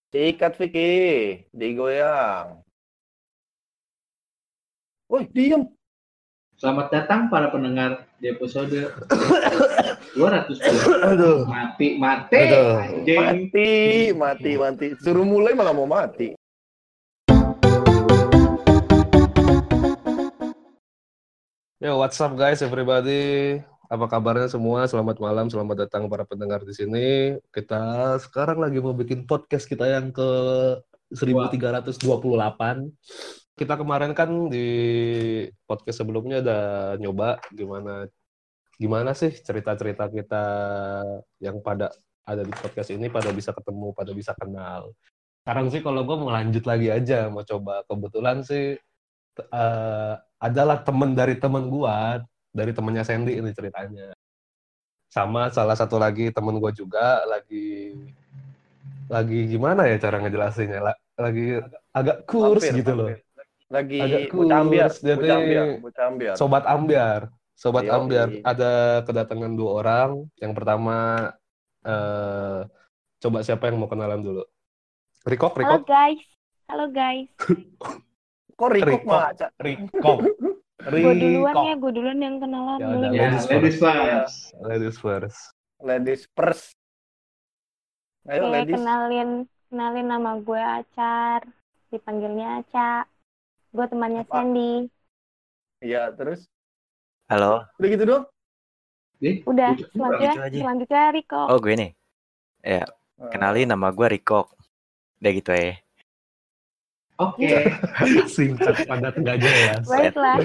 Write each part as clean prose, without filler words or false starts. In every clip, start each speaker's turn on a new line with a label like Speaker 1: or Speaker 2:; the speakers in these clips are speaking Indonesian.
Speaker 1: Sikat Vicky, digoyang. Woi, diem.
Speaker 2: Selamat datang para pendengar di episode 200.
Speaker 1: Aduh.
Speaker 2: Mati,
Speaker 1: Aduh.
Speaker 2: anjing.
Speaker 1: Mati. Suruh mulai malah mau mati.
Speaker 3: Yo, what's up guys, everybody? Apa kabarnya semua? Selamat malam, selamat datang para pendengar di sini. Kita sekarang lagi mau bikin podcast kita yang ke 1328. Kita kemarin kan di podcast sebelumnya udah nyoba gimana sih cerita-cerita kita yang pada ada di podcast ini pada bisa ketemu, pada bisa kenal. Sekarang sih kalau gue mau lanjut lagi aja, mau coba. Kebetulan sih adalah temen dari temen gua, dari temennya Sandy ini ceritanya. Sama salah satu lagi temen gua juga lagi gimana ya cara ngejelasinnya? Lagi agak kurs gitu loh.
Speaker 1: Lagi
Speaker 3: Agak
Speaker 1: bocah ambiar.
Speaker 3: kurs. Jadi sobat ambiar. Sobat ambiar. Ada kedatangan 2 orang. Yang pertama coba siapa yang mau kenalan dulu? Rikok.
Speaker 4: Halo guys.
Speaker 1: Kok Rikok malah?
Speaker 3: Rikok.
Speaker 4: Gue duluan yang kenalan.
Speaker 3: Ya udah,
Speaker 2: Ladies first.
Speaker 1: Ladies first. Ayo
Speaker 4: Oke,
Speaker 1: ladies.
Speaker 4: kenalin nama gue Acar. Dipanggilnya Aca. Gue temannya
Speaker 1: Apa?
Speaker 4: Sandy.
Speaker 1: Iya, terus?
Speaker 5: Halo.
Speaker 1: Udah gitu doang?
Speaker 4: Udah,
Speaker 5: Gitu aja.
Speaker 4: selanjutnya Riko.
Speaker 5: Oh, gue nih. Ya, kenalin nama gue Riko. Udah gitu ya.
Speaker 2: Oke.
Speaker 3: Singkat padat nggak jelas.
Speaker 4: Baiklah.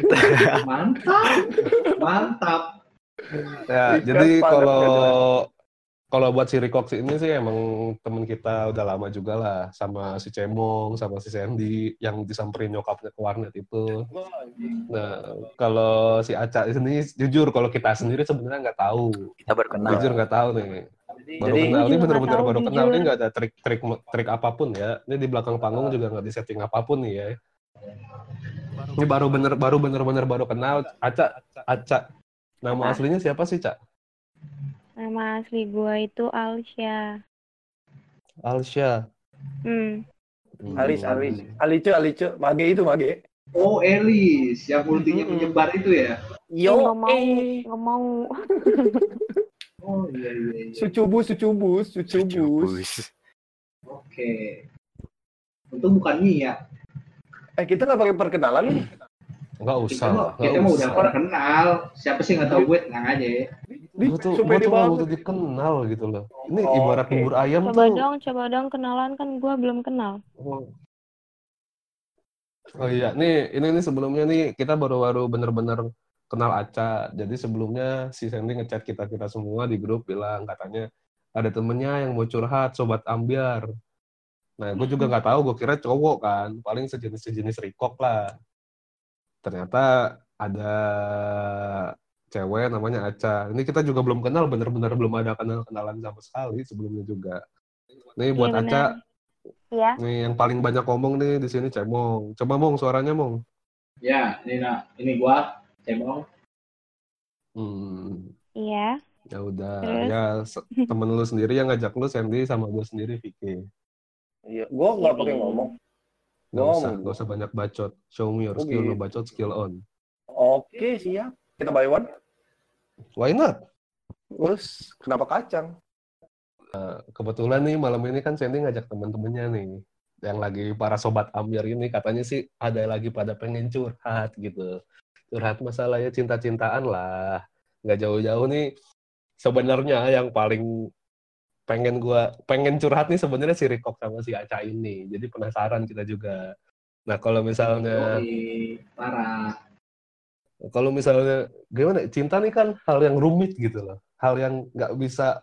Speaker 2: Mantap.
Speaker 3: Ya,
Speaker 1: Singkat,
Speaker 3: jadi
Speaker 1: padat,
Speaker 3: kalau buat si Rikox ini sih emang temen kita udah lama juga lah, sama si Cemong, sama si Sandy yang disamperin nyokapnya ke warnet itu. Nah, kalau si Aca ini jujur kalau kita sendiri sebenarnya nggak tahu.
Speaker 5: Kita baru kenal.
Speaker 3: Jujur nggak tahu nih. Baru
Speaker 1: Jadi-
Speaker 3: kenal ini
Speaker 4: Jujur
Speaker 3: bener-bener
Speaker 4: nggak tahu,
Speaker 3: baru kenal
Speaker 4: jujur.
Speaker 3: ini nggak ada trik apapun ya. Ini di belakang panggung juga nggak di setting apapun nih ya. Ini baru bener-bener baru kenal. Aca. Nama aslinya siapa sih, Cak?
Speaker 4: Nama asli gue itu Alsya.
Speaker 3: Alsya.
Speaker 1: Alis. Alice. Mage.
Speaker 2: Oh, Elis yang multinya penyebar itu ya.
Speaker 1: Yo,
Speaker 4: Nggak mau.
Speaker 2: Oh iya.
Speaker 1: Sucubus.
Speaker 2: Oke. Untung bukan Mia.
Speaker 1: Kita nggak pakai perkenalan nih.
Speaker 3: Nggak usah.
Speaker 2: Kita mah udah pernah kenal. Siapa sih nggak tahu gue, tenang aja ya.
Speaker 3: Gue tuh
Speaker 1: Supaya
Speaker 3: nggak
Speaker 1: banget.
Speaker 3: butuh dikenal gitu loh. Ini
Speaker 1: Oh,
Speaker 3: ibarat
Speaker 1: oke.
Speaker 3: bubur ayam
Speaker 4: Coba dong kenalan, kan gue belum kenal.
Speaker 3: Oh iya, ini sebelumnya nih kita baru bener-bener kenal Aca. Jadi sebelumnya si Sandy ngechat kita semua di grup bilang katanya ada temennya yang mau curhat, sobat ambiar. Nah, gue juga nggak tahu, gue kira cowok kan, paling sejenis Rikok lah. Ternyata ada cewek namanya Aca. Ini kita juga belum kenal, bener-bener belum ada kenalan sama sekali sebelumnya juga. Nih buat
Speaker 4: Iya,
Speaker 3: Aca,
Speaker 4: Iya.
Speaker 3: nih yang paling banyak ngomong nih di sini Cemong. Coba Mong, suaranya Mong.
Speaker 2: Ya, ini gua Cemong.
Speaker 4: Iya.
Speaker 3: Ya udah,
Speaker 4: Terus?
Speaker 3: ya temen lu sendiri yang ngajak lu Sandy sama gue sendiri Vicky.
Speaker 1: Iya, gue nggak pakai ngomong.
Speaker 3: Gak usah banyak bacot. Show me your skill, no
Speaker 1: gitu.
Speaker 3: bacot, skill on.
Speaker 1: Oke, siap. Kita buy one.
Speaker 3: Why not?
Speaker 1: Terus, kenapa kacang?
Speaker 3: Kebetulan nih malam ini kan Sandy ngajak temen-temennya nih. Yang lagi para sobat ambiar ini katanya sih ada lagi pada pengen curhat gitu. Curhat masalahnya cinta-cintaan lah. Nggak jauh-jauh nih. Sebenarnya yang paling pengen curhat nih sebenarnya si Rikok sama si Aca ini. Jadi penasaran kita juga. Nah, kalau misalnya
Speaker 2: Parah.
Speaker 3: gimana? Cinta nih kan hal yang rumit gitu loh. Hal yang nggak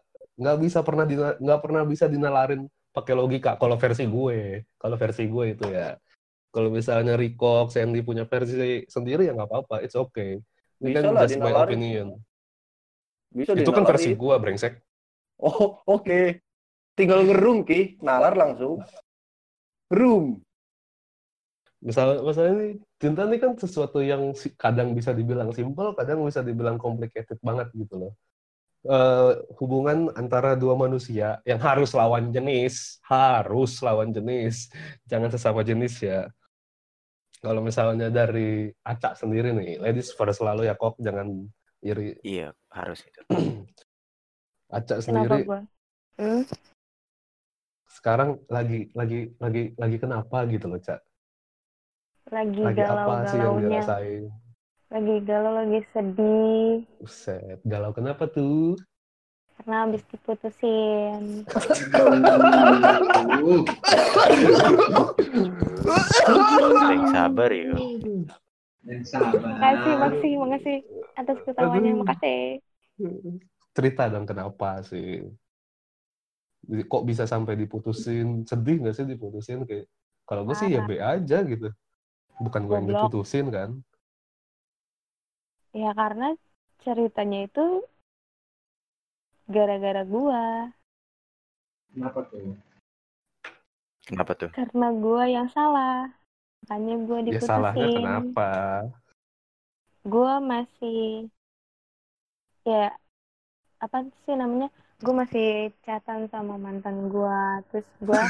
Speaker 3: pernah bisa dinalarin pakai logika. Kalau versi gue itu ya. Kalau misalnya Rikok, Sandy punya versi sendiri ya nggak apa-apa, it's okay. Ini
Speaker 1: Bisa
Speaker 3: kan
Speaker 1: lah
Speaker 3: just my
Speaker 1: dinalarin.
Speaker 3: opinion.
Speaker 1: Bisa
Speaker 3: Itu kan versi
Speaker 1: dinalarin.
Speaker 3: gue, brengsek.
Speaker 1: Oh, oke. Tinggal ngerung, Ki. Nalar langsung. Room.
Speaker 3: Masalah ini cinta ini kan sesuatu yang kadang bisa dibilang simple, kadang bisa dibilang complicated banget gitu loh. hubungan antara dua manusia yang harus lawan jenis, jangan sesama jenis ya. Kalau misalnya dari Aca sendiri nih, ladies first selalu ya kok, jangan iri.
Speaker 5: Iya, harus itu.
Speaker 3: Aca
Speaker 4: Kenapa
Speaker 3: sendiri
Speaker 4: gue?
Speaker 3: sekarang lagi kenapa gitu loh, Cak?
Speaker 4: Lagi
Speaker 3: Lagi apa sih yang
Speaker 4: galau-galaunya.
Speaker 3: dirasain?
Speaker 4: Lagi galau, lagi sedih.
Speaker 3: Buset, galau kenapa tuh?
Speaker 4: Karena habis diputusin.
Speaker 2: Aduh.
Speaker 5: Yang sabar ya.
Speaker 2: Dan sabar.
Speaker 4: Makasih atas ketawanya.
Speaker 3: Aduh.
Speaker 4: Makasih.
Speaker 3: Cerita dong kenapa sih? Kok bisa sampai diputusin? Sedih nggak sih diputusin? Kayak kalau gue sih ya B aja gitu. Bukan gue yang
Speaker 4: Goblok.
Speaker 3: diputusin kan?
Speaker 4: Ya karena ceritanya itu gara-gara gua.
Speaker 2: Kenapa tuh?
Speaker 5: Kenapa tuh?
Speaker 4: Karena gua yang salah. Makanya gua
Speaker 3: Ya
Speaker 4: diputusin.
Speaker 3: salahnya kenapa?
Speaker 4: Gua masih ya apa sih namanya? Gua masih chatan sama mantan gua. Terus gua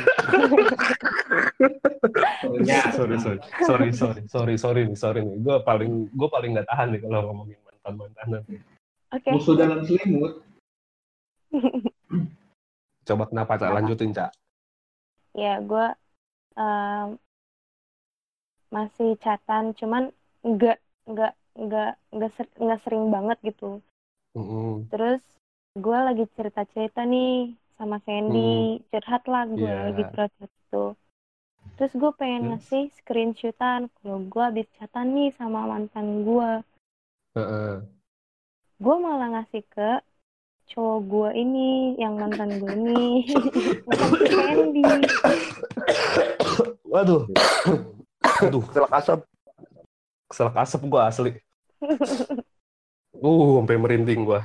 Speaker 3: Sorry nih. Gue paling nggak tahan nih kalau ngomongin mantan-mantanan.
Speaker 4: oke.
Speaker 2: Musuh dalam selimut.
Speaker 3: Coba kenapa, Cak? Lanjutin, Cak.
Speaker 4: Ya gua masih chatan, cuman nggak sering banget gitu. Terus gue lagi cerita nih sama Sandy, curhat lah gue lagi curhat gitu. Terus gue pengen ngasih screenshotan kalau gue habis chatan nih sama mantan gue. Gue malah ngasih ke cowok gue ini, yang mantan gue ini, bukan ke Sandy.
Speaker 3: Waduh.
Speaker 1: Keselak asap
Speaker 3: gue asli. Sampai merinding gue.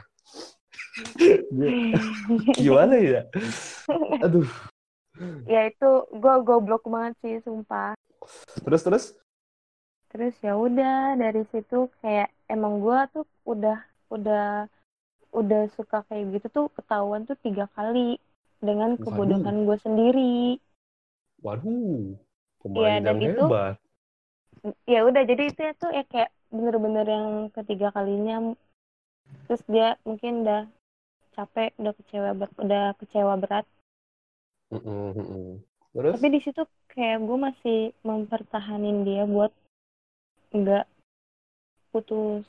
Speaker 3: Gimana ya? Aduh.
Speaker 4: Ya itu gue goblok banget sih, sumpah.
Speaker 3: Terus
Speaker 4: ya udah, dari situ kayak emang gue tuh udah suka kayak gitu tuh ketahuan tuh 3 kali dengan kebodohan gue sendiri.
Speaker 3: Waduh,
Speaker 4: ya,
Speaker 3: pemain
Speaker 4: dan
Speaker 3: yang
Speaker 4: itu,
Speaker 3: hebat.
Speaker 4: Ya udah, jadi itu ya tuh ya kayak bener-bener yang ketiga kalinya. Terus dia mungkin udah capek, udah kecewa berat.
Speaker 3: Terus?
Speaker 4: Tapi di situ kayak gue masih mempertahanin dia buat nggak putus.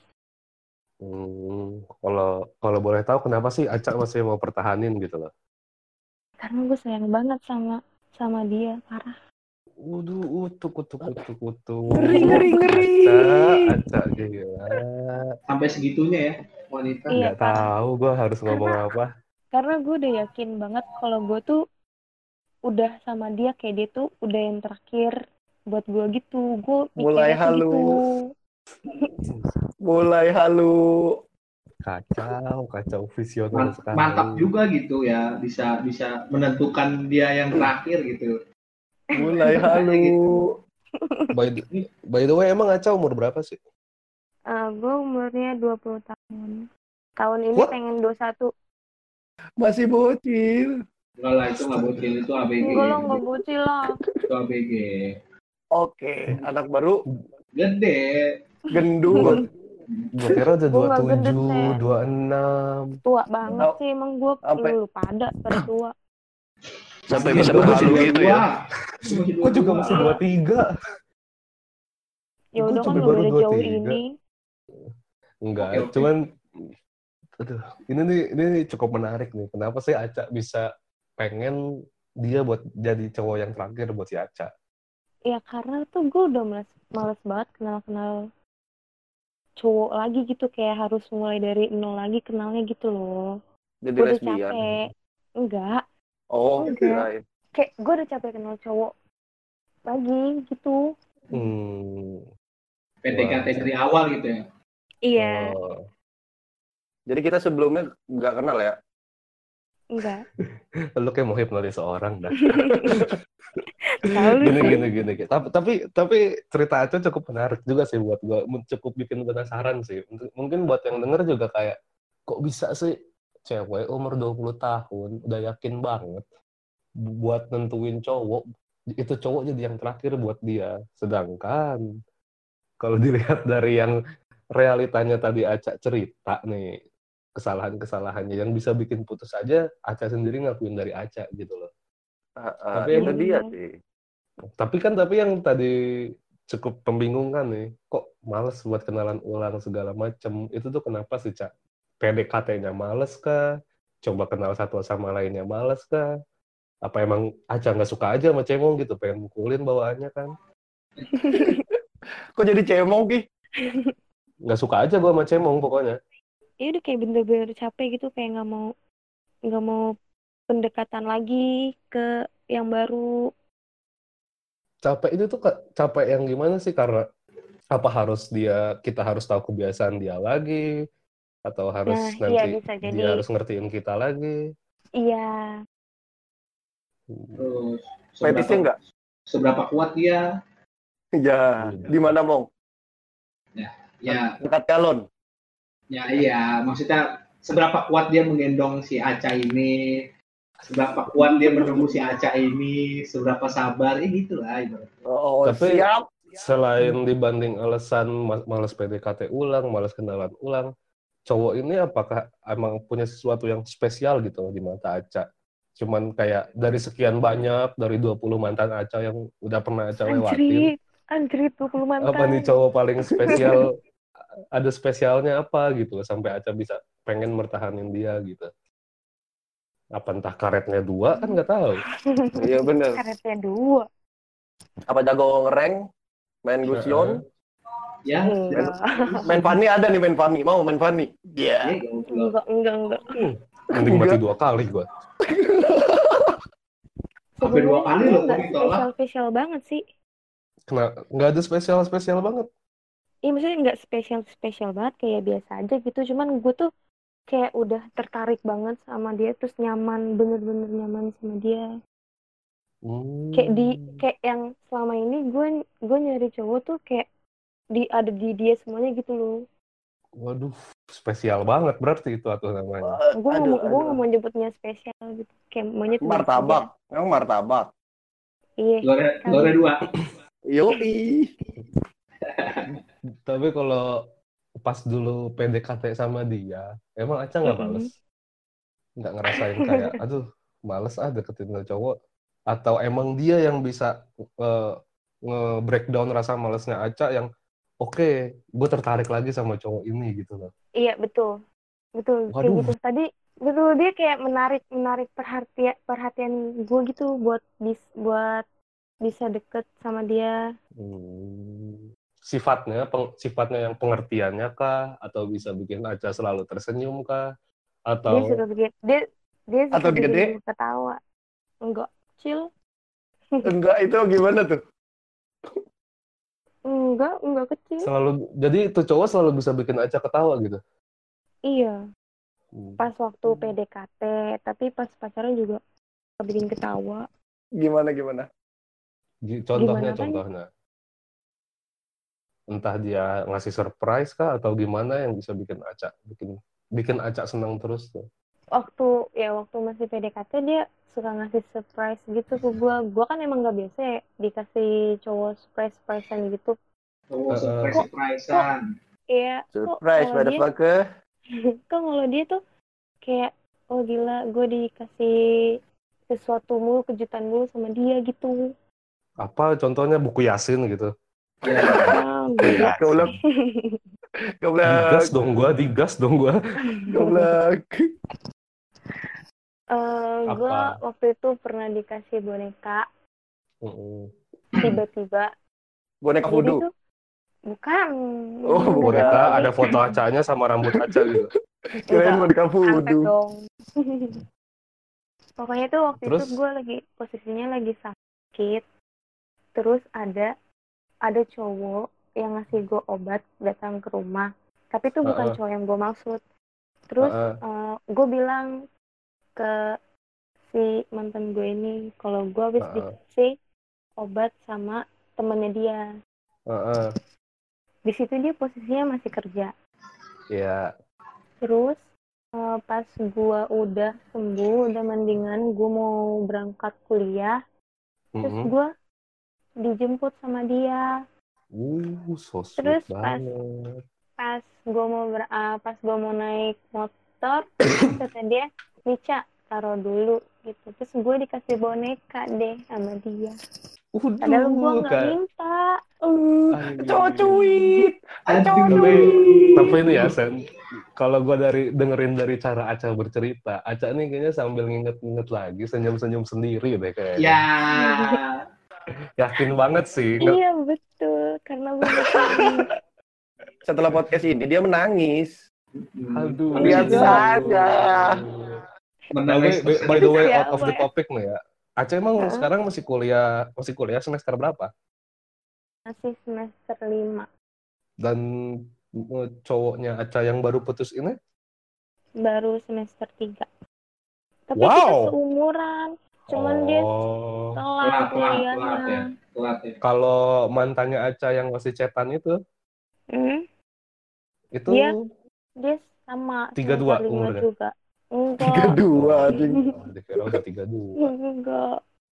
Speaker 3: Kalau boleh tahu kenapa sih Aca masih mau pertahanin gitu loh?
Speaker 4: Karena gue sayang banget sama dia, parah.
Speaker 3: Waduh, kutu.
Speaker 1: Ngeri.
Speaker 3: Aca gila.
Speaker 2: Sampai segitunya ya, wanita.
Speaker 3: Nggak tahu gue harus ngomong apa.
Speaker 4: Karena gue udah yakin banget kalau gue tuh udah sama dia, kayak dia tuh udah yang terakhir buat gue gitu. Gue
Speaker 1: mulai halu. Mulai halu.
Speaker 3: Kacau visioner sekali.
Speaker 2: Mantap juga gitu ya, bisa menentukan dia yang terakhir gitu.
Speaker 1: Mulai halu.
Speaker 3: By the way, emang Aca umur berapa sih?
Speaker 4: Gue umurnya 20 tahun. Tahun ini pengen 21.
Speaker 1: Masih bocil.
Speaker 2: Enggak lah, itu nggak bocil, itu ABG.
Speaker 4: Enggak lah, nggak bocil lah.
Speaker 2: Itu ABG.
Speaker 1: Oke, anak baru.
Speaker 2: Gede.
Speaker 1: Gendut.
Speaker 3: Gue kira udah 27, 26.
Speaker 4: Tua banget sih emang gue. Lu pada tua.
Speaker 1: Sampai bisa berhalu gitu ya.
Speaker 3: Gue juga masih 23.
Speaker 4: Ya udah kan lu udah jauh ini.
Speaker 3: Enggak, cuman aduh, ini cukup menarik nih. Kenapa sih Aca bisa pengen dia buat jadi cowok yang terakhir buat si Aca?
Speaker 4: Ya karena tuh gue udah males banget kenal cowok lagi gitu, kayak harus mulai dari nol lagi kenalnya gitu loh.
Speaker 1: Jadi
Speaker 4: gue udah
Speaker 1: lesbian.
Speaker 4: capek. Enggak. Kayak gue udah capek kenal cowok lagi gitu.
Speaker 2: PDKT dari awal gitu ya.
Speaker 4: Iya.
Speaker 1: Jadi kita sebelumnya nggak kenal ya?
Speaker 4: Enggak.
Speaker 3: Lu kayak mau hipnotis seorang dah. Gini. Tapi cerita Aca cukup menarik juga sih buat gue. Cukup bikin penasaran sih. Mungkin buat yang denger juga kayak, kok bisa sih cewek umur 20 tahun udah yakin banget buat nentuin cowok, itu cowok jadi yang terakhir buat dia. Sedangkan kalau dilihat dari yang realitanya tadi Aca cerita nih, kesalahan-kesalahannya yang bisa bikin putus aja, Aca sendiri ngakuin dari Aca gitu loh. Tapi
Speaker 1: Itu
Speaker 3: emang,
Speaker 1: dia sih.
Speaker 3: tapi yang tadi cukup membingungkan nih, kok males buat kenalan ulang segala macem. Itu tuh kenapa sih, Cak? PDKT-nya males kah? Coba kenal satu sama lainnya males kah? Apa emang Aca nggak suka aja sama cemong gitu, pengen mukulin bawaannya kan?
Speaker 1: Kok jadi cemong, Ki?
Speaker 3: Nggak suka aja gue sama cemong pokoknya.
Speaker 4: Ya udah kayak bener-bener capek gitu, kayak nggak mau pendekatan lagi ke yang baru.
Speaker 3: Capek itu tuh capek yang gimana sih? Karena apa kita harus tahu kebiasaan dia lagi, atau harus
Speaker 4: Nah, iya
Speaker 3: nanti
Speaker 4: bisa
Speaker 3: dia
Speaker 4: jadi.
Speaker 3: harus ngertiin kita lagi?
Speaker 4: Iya.
Speaker 2: Terus
Speaker 1: Fetisnya nggak?
Speaker 2: seberapa kuat dia?
Speaker 1: Ya, di mana, Mong?
Speaker 2: Ya,
Speaker 1: Dekat galon.
Speaker 2: ya iya. Maksudnya seberapa kuat dia menggendong si Aca ini? Seberapa kuat dia menunggu si Aca ini? Seberapa sabar? Gitulah ibaratnya.
Speaker 1: Oh,
Speaker 3: Tapi
Speaker 1: siap.
Speaker 3: selain dibanding alasan males PDKT ulang, males kenalan ulang, cowok ini apakah emang punya sesuatu yang spesial gitu di mata Aca? Cuman kayak dari sekian banyak, dari 20 mantan Aca yang udah pernah Aca lewatin,
Speaker 4: Anjrit 20
Speaker 3: apa nih
Speaker 4: mantan.
Speaker 3: cowok paling spesial, ada spesialnya apa gitu sampai Aca bisa pengen mertahanin dia gitu? Apa entah karetnya 2 kan nggak tahu.
Speaker 1: Iya bener.
Speaker 4: Karetnya 2.
Speaker 1: Apa jago ngereng? Main Gusion?
Speaker 2: Ya,
Speaker 4: Enggak.
Speaker 1: Main Fanny ada nih, main Fanny. Mau main Fanny? Iya.
Speaker 4: Enggak.
Speaker 3: Mending mati 2 kali gua.
Speaker 2: Sampai 2 kali loh
Speaker 4: Enggak
Speaker 2: kok ditolak.
Speaker 4: spesial banget sih.
Speaker 3: Nggak ada spesial banget.
Speaker 4: Iya, maksudnya nggak spesial banget, kayak biasa aja gitu. Cuman gue tuh kayak udah tertarik banget sama dia, terus bener-bener nyaman sama dia. Kayak yang selama ini gue nyari cowok tuh kayak ada di dia semuanya gitu loh.
Speaker 3: Waduh, spesial banget berarti itu atau namanya.
Speaker 4: Gue nggak mau nyebutnya spesial gitu, kayak maunya tuh
Speaker 1: martabak. Emang martabak.
Speaker 4: Iya.
Speaker 2: Lore 2.
Speaker 1: Yoi.
Speaker 3: Tapi kalau pas dulu PDKT sama dia, emang Aca nggak males? Nggak ngerasain kayak, aduh, males deketin cowok? Atau emang dia yang bisa nge-breakdown rasa malesnya Aca yang, oke, gue tertarik lagi sama cowok ini gitu loh.
Speaker 4: Iya, betul. Kayak gitu. Tadi, betul, dia kayak menarik perhatian gue gitu buat bisa deket sama dia.
Speaker 3: Sifatnya yang pengertiannya kah, atau bisa bikin Aca selalu tersenyum kah, atau
Speaker 4: dia suka bikin gue ketawa. Enggak, chill.
Speaker 1: Enggak, itu gimana tuh?
Speaker 4: Enggak kecil.
Speaker 3: Jadi itu cowok selalu bisa bikin Aca ketawa gitu?
Speaker 4: Iya. Pas waktu PDKT, tapi pas pacaran juga bikin ketawa.
Speaker 1: Gimana?
Speaker 3: Contohnya. Entah dia ngasih surprise kah atau gimana yang bisa bikin Aca senang terus tuh.
Speaker 4: Waktu masih PDKT dia suka ngasih surprise gitu ke gue. Gue kan emang nggak biasa ya dikasih cowok surprisean gitu.
Speaker 2: Surprisean.
Speaker 4: Iya.
Speaker 1: Surprise, motherfucker.
Speaker 4: Kok kalau dia tuh kayak, oh gila, gue dikasih sesuatu mulu, kejutan mulu sama dia gitu.
Speaker 3: Apa contohnya, buku Yasin gitu?
Speaker 1: Goblok.
Speaker 3: Digas dong gua.
Speaker 1: Goblok.
Speaker 4: Gue waktu itu pernah dikasih boneka. Tiba-tiba.
Speaker 1: Boneka voodoo?
Speaker 4: Bukan.
Speaker 1: Oh,
Speaker 3: boneka ada foto Acanya sama rambut Aca gitu.
Speaker 1: Kirain boneka voodoo.
Speaker 4: Dong. Pokoknya tuh waktu itu gue posisinya lagi sakit. Terus ada cowok yang ngasih gue obat datang ke rumah. Tapi itu bukan cowok yang gue maksud. Terus gue bilang ke si mantan gue ini kalau gue habis dikasih obat sama temennya dia. Di situ dia posisinya masih kerja.
Speaker 3: Iya.
Speaker 4: Terus Pas gue udah sembuh, udah mendingan, gue mau berangkat kuliah, terus gue dijemput sama dia.
Speaker 3: So sweet
Speaker 4: Terus
Speaker 3: banget.
Speaker 4: pas gue mau naik motor, kata dia, Nica, taruh dulu gitu. Terus gue dikasih boneka deh sama dia. Padahal gue nggak minta.
Speaker 1: Cowok cuit.
Speaker 3: Tapi ini ya, Sen, kalau gue dengerin dari cara Aca bercerita, Aca nih kayaknya sambil nginget-nginget lagi, senyum-senyum sendiri deh kayaknya.
Speaker 2: Ya.
Speaker 3: Yakin banget sih.
Speaker 4: Iya betul, karena gue bakal
Speaker 1: Setelah podcast ini dia menangis.
Speaker 3: Aduh.
Speaker 1: Lihat saja.
Speaker 3: Tapi by the way, out of the
Speaker 4: Siapa ya?
Speaker 3: topic nih ya. Aca emang sekarang masih kuliah semester berapa?
Speaker 4: Masih semester 5.
Speaker 3: Dan cowoknya Aca yang baru putus ini?
Speaker 4: Baru semester 3. Tapi
Speaker 3: Wow.
Speaker 4: kita seumuran. Cuman dia telat kuliahnya.
Speaker 2: Telat ya.
Speaker 3: Kalau mantannya Aca yang masih cetan itu
Speaker 4: Dia sama
Speaker 3: 32
Speaker 4: semester 5
Speaker 3: umurnya?
Speaker 4: juga. Enggak.
Speaker 1: 32 anjing.
Speaker 3: Dikira udah 32.
Speaker 4: Enggak.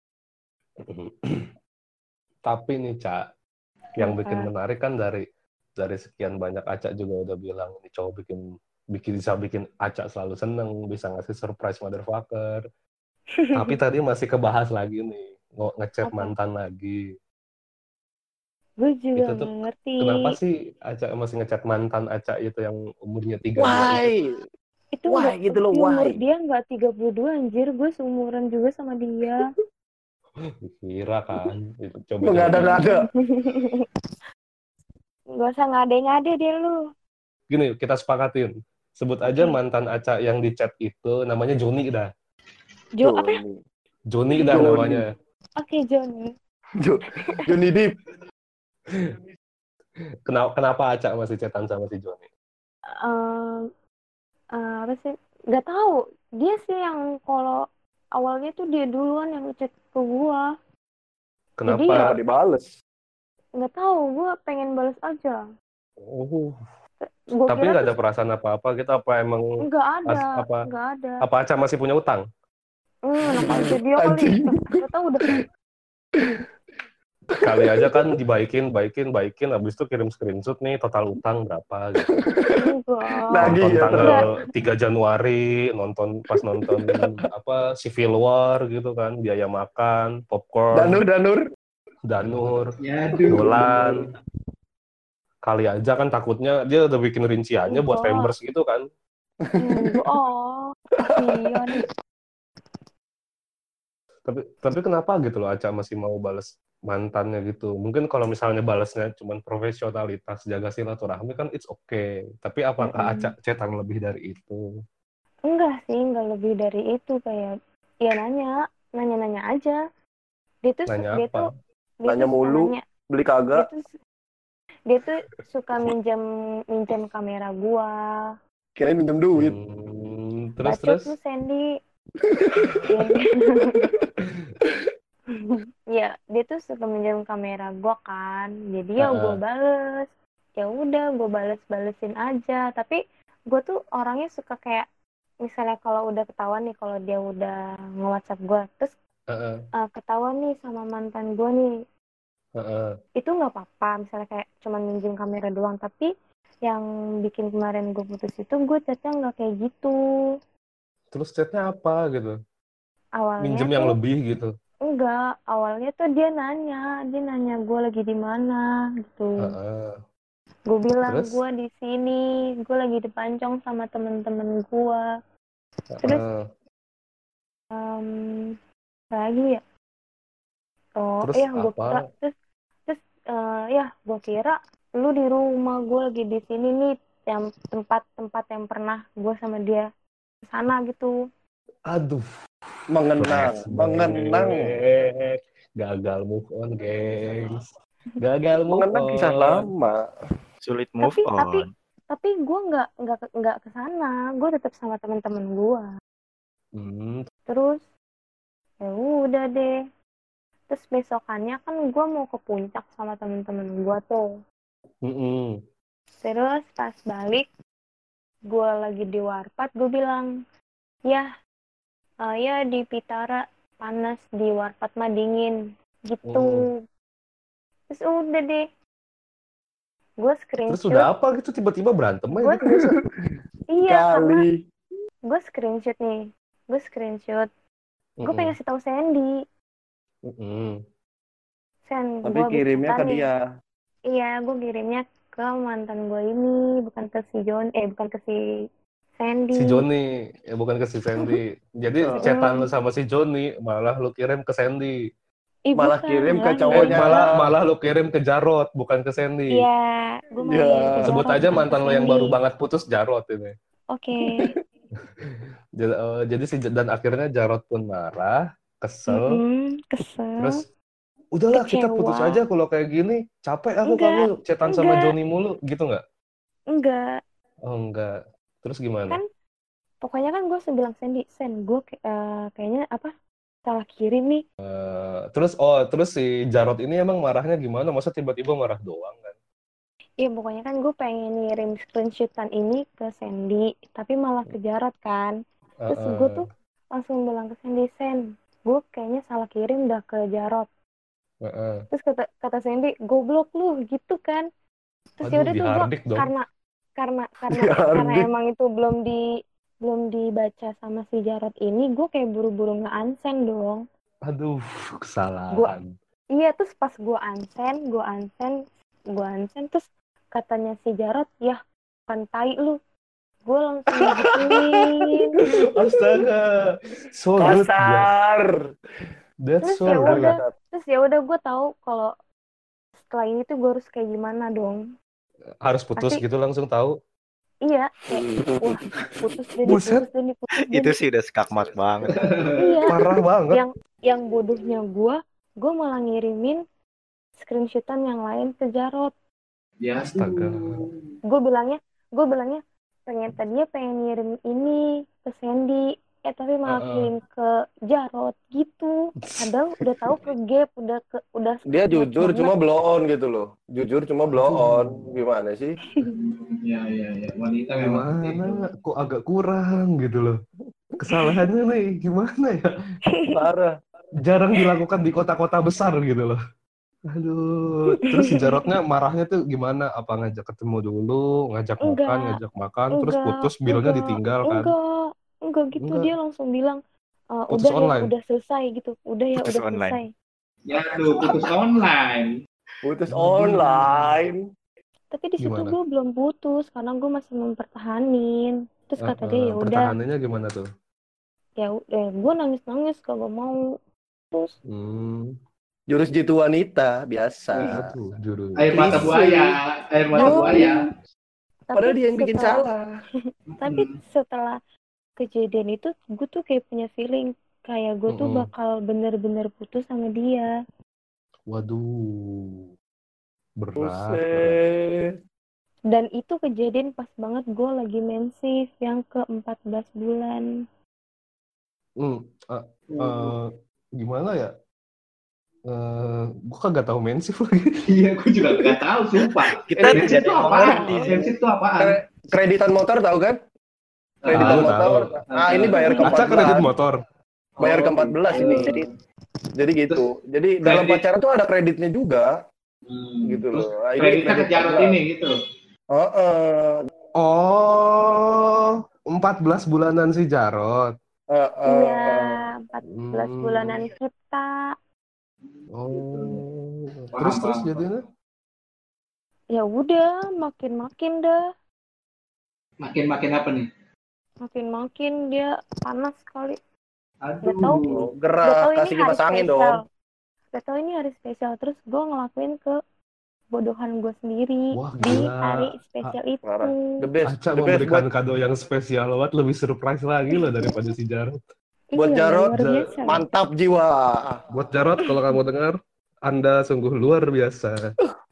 Speaker 3: Tapi nih, Ca, yang bikin menarik kan dari sekian banyak Aca juga udah bilang ini cowok bisa bikin Aca selalu seneng, bisa ngasih surprise motherfucker. Tapi tadi masih kebahas lagi nih, ngechat mantan lagi.
Speaker 4: Gue juga
Speaker 3: Itu tuh
Speaker 4: nggak ngerti.
Speaker 3: kenapa sih Aca masih ngechat mantan Aca itu yang umurnya 32
Speaker 1: Why?
Speaker 4: Itu
Speaker 1: Why gitu loh,
Speaker 4: umur
Speaker 1: why?
Speaker 4: dia nggak 32 anjir. Gue seumuran juga sama dia.
Speaker 3: Kira kan itu coba
Speaker 1: Mengada-ngada.
Speaker 4: Gak usah ngade-ngade deh lu.
Speaker 3: Gini, kita sepakatin. Sebut aja mantan Aca yang di chat itu namanya Joni dah.
Speaker 4: Apa?
Speaker 3: Joni dah namanya.
Speaker 4: Oke, Joni.
Speaker 1: Joni Deep.
Speaker 3: Kenapa Aca masih chatan sama si Joni?
Speaker 4: Apa sih? Gak tahu. Dia sih yang kalau awalnya tuh dia duluan yang ngechat ke gua.
Speaker 3: Kenapa?
Speaker 4: Jadi ya,
Speaker 1: Dibales?
Speaker 4: Gak tahu. Gua pengen balas aja.
Speaker 3: Tapi nggak ada perasaan apa-apa gitu? Apa emang?
Speaker 4: Nggak ada.
Speaker 3: Apa Aca masih punya utang?
Speaker 4: Namanya dia kali. Gak tahu udah.
Speaker 3: Kali aja kan dibaikin, habis itu kirim screenshot nih total utang berapa gitu. Nonton tanggal 3 Januari, pas nonton Civil War gitu kan, biaya makan, popcorn, Danur, dolan. Kali aja kan takutnya dia udah bikin rinciannya buat members gitu kan.
Speaker 4: Iya nih.
Speaker 3: Tapi kenapa gitu loh Aca masih mau balas mantannya gitu? Mungkin kalau misalnya balasnya cuma profesionalitas, jaga silaturahmi kan it's okay. Tapi apakah Aca cetan lebih dari itu?
Speaker 4: Enggak sih, enggak lebih dari itu. Kayak ya nanya aja.
Speaker 1: Nanya mulu, beli kagak.
Speaker 4: Dia tuh suka minjem kamera gua.
Speaker 1: Kirain minjem duit.
Speaker 3: Terus
Speaker 4: lu Sandy. Ya, dia tuh suka minjem kamera gua kan. Jadi ya gua bales. Ya udah, gua balesin aja. Tapi gua tuh orangnya suka kayak misalnya kalau udah ketahuan nih kalau dia udah nge-WhatsApp gua, terus ketahuan nih sama mantan gua nih. Itu nggak apa-apa, misalnya kayak cuman minjem kamera doang. Tapi yang bikin kemarin gue putus itu gue chatnya nggak kayak gitu.
Speaker 3: Terus chatnya apa gitu?
Speaker 4: Awalnya
Speaker 3: minjem yang lebih gitu?
Speaker 4: Enggak, awalnya tuh dia nanya gue lagi di mana gitu. Gue bilang gue di sini, gue lagi di Pancong sama temen-temen gue. Terus lagi ya. Gue kira lu di rumah, gue lagi di sini nih, yang tempat yang pernah gue sama dia kesana gitu.
Speaker 3: Aduh,
Speaker 1: mengenang.
Speaker 3: Gagal move on, gengs. Gagal move on.
Speaker 1: Kisah lama.
Speaker 5: Sulit move on.
Speaker 4: Tapi gue nggak kesana, gue tetap sama teman-teman gue. Terus ya udah deh. Terus besokannya kan gue mau ke puncak sama temen-temen gue tuh. Terus pas balik gue lagi di Warpat, gue bilang, ya di Pitara panas, di Warpat mah dingin gitu. Terus udah deh, gue
Speaker 3: Terus
Speaker 4: screenshot.
Speaker 3: udah apa gitu tiba-tiba berantem aja gitu biasa.
Speaker 4: Iya, karena
Speaker 1: Kali.
Speaker 4: gue screenshot nih. Gue screenshot. Gue pengen kasih tahu Sandy. Sen,
Speaker 1: Tapi
Speaker 4: gue habis
Speaker 1: kirimnya
Speaker 4: makan
Speaker 1: ke
Speaker 4: nih.
Speaker 1: dia.
Speaker 4: Iya, gue kirimnya ke mantan gue ini, bukan ke si bukan ke si Sandy.
Speaker 3: Si Joni, bukan ke si Sandy. Jadi chatan lu sama si Joni, malah lu kirim ke Sandy.
Speaker 1: Malah
Speaker 4: Bukan,
Speaker 1: kirim ke
Speaker 4: malah
Speaker 1: cowoknya.
Speaker 3: Malah lu kirim ke Jarot, bukan ke Sandy.
Speaker 4: Iya, gue malah
Speaker 1: Iya.
Speaker 4: kirim ke
Speaker 3: Sebut
Speaker 4: Jarot,
Speaker 3: aja
Speaker 4: bukan
Speaker 3: mantan
Speaker 4: ke
Speaker 3: lo yang
Speaker 4: Sandy.
Speaker 3: baru banget putus, Jarot ini.
Speaker 4: Oke.
Speaker 3: Jadi dan akhirnya Jarot pun marah, kesel.
Speaker 4: Kesel.
Speaker 3: Terus udahlah kita
Speaker 4: Kecewa.
Speaker 3: putus aja kalau kayak gini. Capek aku kamu chatan sama Joni mulu, gitu nggak?
Speaker 4: Enggak.
Speaker 3: Oh enggak. Terus gimana?
Speaker 4: Kan pokoknya kan gue bilang Sandy, Sen, gue kayaknya salah kirim nih.
Speaker 3: Terus si Jarot ini emang marahnya gimana? Masa tiba-tiba marah doang kan?
Speaker 4: Iya, pokoknya kan gue pengen ngirim screenshotan ini ke Sandy, tapi malah ke Jarot kan. Terus gue tuh langsung bilang ke Sandy, Sen, gue kayaknya salah kirim dah ke Jarot. Terus kata Sandy, goblok lu gitu kan. Terus ya udah tuh gue karena emang itu belum dibaca sama si Jarot ini, gue kayak buru-buru nge-unsend dong.
Speaker 3: Aduh, kesalahan.
Speaker 4: Iya, terus pas gue unsend, terus katanya si Jarot, ya kan tai lu. Gue langsung digituin.
Speaker 3: Astaga, so rude.
Speaker 1: Kasar.
Speaker 3: That's so rude.
Speaker 4: Terus ya udah gue tahu kalau setelah ini tuh gue harus kayak gimana dong.
Speaker 3: Harus putus gitu langsung tahu.
Speaker 4: Iya, kayak wah putus deh.
Speaker 5: Itu sih udah skakmat banget.
Speaker 4: Iya.
Speaker 3: Parah banget.
Speaker 4: Yang bodohnya gue malah ngirimin screenshotan yang lain ke Jarot.
Speaker 2: Ya,
Speaker 3: astaga.
Speaker 4: Gue bilangnya tadinya pengen ngirim ini ke Sandy, tapi malah kirim ke Jarot gitu. Padahal udah tahu ke gap, udah.
Speaker 1: Dia jujur banget. Cuma blow on gitu loh. Jujur cuma blow on. Gimana sih?
Speaker 2: Ya. Wanita memang.
Speaker 3: Gimana? Kok agak kurang gitu loh. Kesalahannya nih gimana ya?
Speaker 1: Parah.
Speaker 3: Jarang dilakukan di kota-kota besar gitu loh. Aduh, terus si Jarotnya marahnya tuh gimana? Apa ngajak ketemu dulu, ngajak makan, terus putus, bilnya ditinggal kan?
Speaker 4: Enggak gitu, dia langsung bilang,
Speaker 3: putus
Speaker 4: udah
Speaker 3: online.
Speaker 4: Ya, udah selesai gitu. Udah ya,
Speaker 5: putus
Speaker 4: udah
Speaker 5: online.
Speaker 4: Selesai.
Speaker 2: Ya tuh, putus online.
Speaker 1: Putus online.
Speaker 4: Tapi di situ gue belum putus, karena gue masih mempertahanin. Terus kata dia, ya udah.
Speaker 3: Pertahanannya gimana tuh?
Speaker 4: Ya udah, gue nangis kalau mau. Terus.
Speaker 1: Jurus jitu wanita biasa.
Speaker 2: Air mata buaya.
Speaker 1: Padahal dia yang bikin salah.
Speaker 4: Tapi setelah kejadian itu, gue tuh kayak punya feeling kayak gue tuh bakal bener-bener putus sama dia.
Speaker 3: Waduh, berat.
Speaker 4: Dan itu kejadian pas banget gue lagi mensif yang ke 14 bulan.
Speaker 3: Gimana ya? Gue kagak tahu mensif lagi.
Speaker 2: Iya, gue juga gak tahu, sumpah. Mensif itu apaan? Mensif itu apaan?
Speaker 1: Kreditan motor tahu kan? Kreditan motor. Ini bayar ke 14.
Speaker 3: Acak kredit motor.
Speaker 1: Bayar ke 14 ini. Jadi gitu. Jadi dalam pacaran tuh ada kreditnya juga. Gitu loh.
Speaker 2: Kreditnya ke Jarot ini gitu.
Speaker 3: 14 bulanan si Jarot.
Speaker 4: Iya, 14 bulanan kita.
Speaker 3: Terus jadinya?
Speaker 4: Ya udah, makin dah.
Speaker 2: Makin apa nih?
Speaker 4: Makin dia panas sekali.
Speaker 2: Aduh,
Speaker 1: gerah, kasih kipas angin dong.
Speaker 4: Gak tau ini hari spesial, terus gue ngelakuin kebodohan gue sendiri.
Speaker 3: Wah,
Speaker 4: di hari spesial itu.
Speaker 1: The best.
Speaker 3: Aca memberikan kado yang spesial banget, lebih surprise lagi loh daripada si Jarot.
Speaker 1: Buat Jarot, mantap jiwa.
Speaker 3: Buat Jarot, kalau kamu dengar, Anda sungguh luar biasa.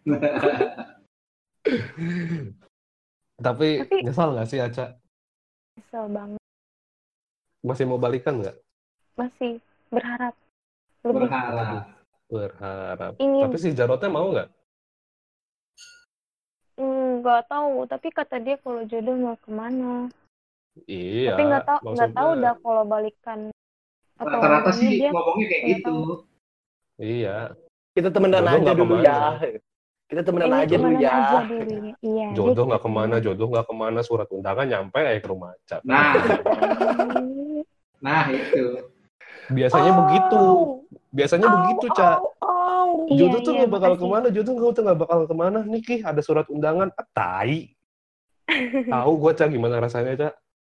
Speaker 3: Tapi nyesal nggak sih Aca?
Speaker 4: Nyesel banget.
Speaker 3: Masih mau balikan nggak?
Speaker 4: Masih berharap.
Speaker 3: Berharap. Tapi si Jarotnya mau nggak?
Speaker 4: nggak tahu, tapi kata dia kalau jodoh mau kemana.
Speaker 3: Iya.
Speaker 4: Tapi nggak tahu dah kalau balikan atau
Speaker 2: Rata-rata
Speaker 4: gimana,
Speaker 2: sih
Speaker 4: dia
Speaker 2: ngomongnya kayak
Speaker 4: nggak
Speaker 2: gitu.
Speaker 4: tahu.
Speaker 3: Iya.
Speaker 1: Kita temenan
Speaker 3: Jodoh
Speaker 1: aja
Speaker 3: nggak
Speaker 1: dulu
Speaker 3: kemana.
Speaker 1: ya. Kita temenan
Speaker 4: Ini
Speaker 1: aja dulu
Speaker 4: temenan
Speaker 1: ya.
Speaker 4: aja dulu ya. Iya.
Speaker 3: Jodoh
Speaker 4: dia
Speaker 3: nggak
Speaker 4: kita
Speaker 3: kemana, kemana, surat undangan nyampe aja ke rumah Aca.
Speaker 4: temenan.
Speaker 2: Nah itu.
Speaker 3: Biasanya begitu. Biasanya begitu, Ca. Jodoh tuh
Speaker 4: Iya,
Speaker 3: nggak bakal
Speaker 4: makasih.
Speaker 3: kemana, nggak bakal kemana. Nih, ada surat undangan. Tai. Tahu gue, Ca, gimana rasanya, Ca?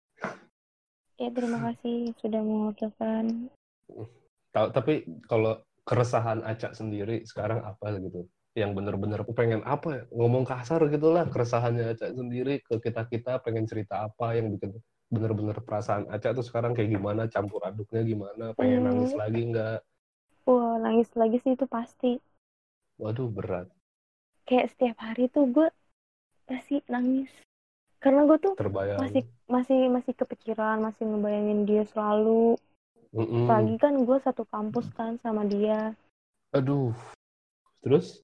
Speaker 4: Ya, terima kasih sudah mewakilkan.
Speaker 3: Tapi kalau keresahan Aca sendiri sekarang apa gitu? Yang bener-bener aku pengen apa ya? Ngomong kasar gitulah, keresahannya Aca sendiri ke kita pengen cerita apa yang bikin bener-bener perasaan Aca tuh sekarang kayak gimana, campur aduknya gimana, pengen nangis lagi nggak?
Speaker 4: Wah, nangis lagi sih itu pasti.
Speaker 3: Waduh, berat.
Speaker 4: Kayak setiap hari tuh gue pasti nangis. Karena gue tuh
Speaker 3: Terbayang.
Speaker 4: masih kepikiran, masih ngebayangin dia selalu. Lagi kan gue satu kampus kan sama dia.
Speaker 3: Aduh. Terus?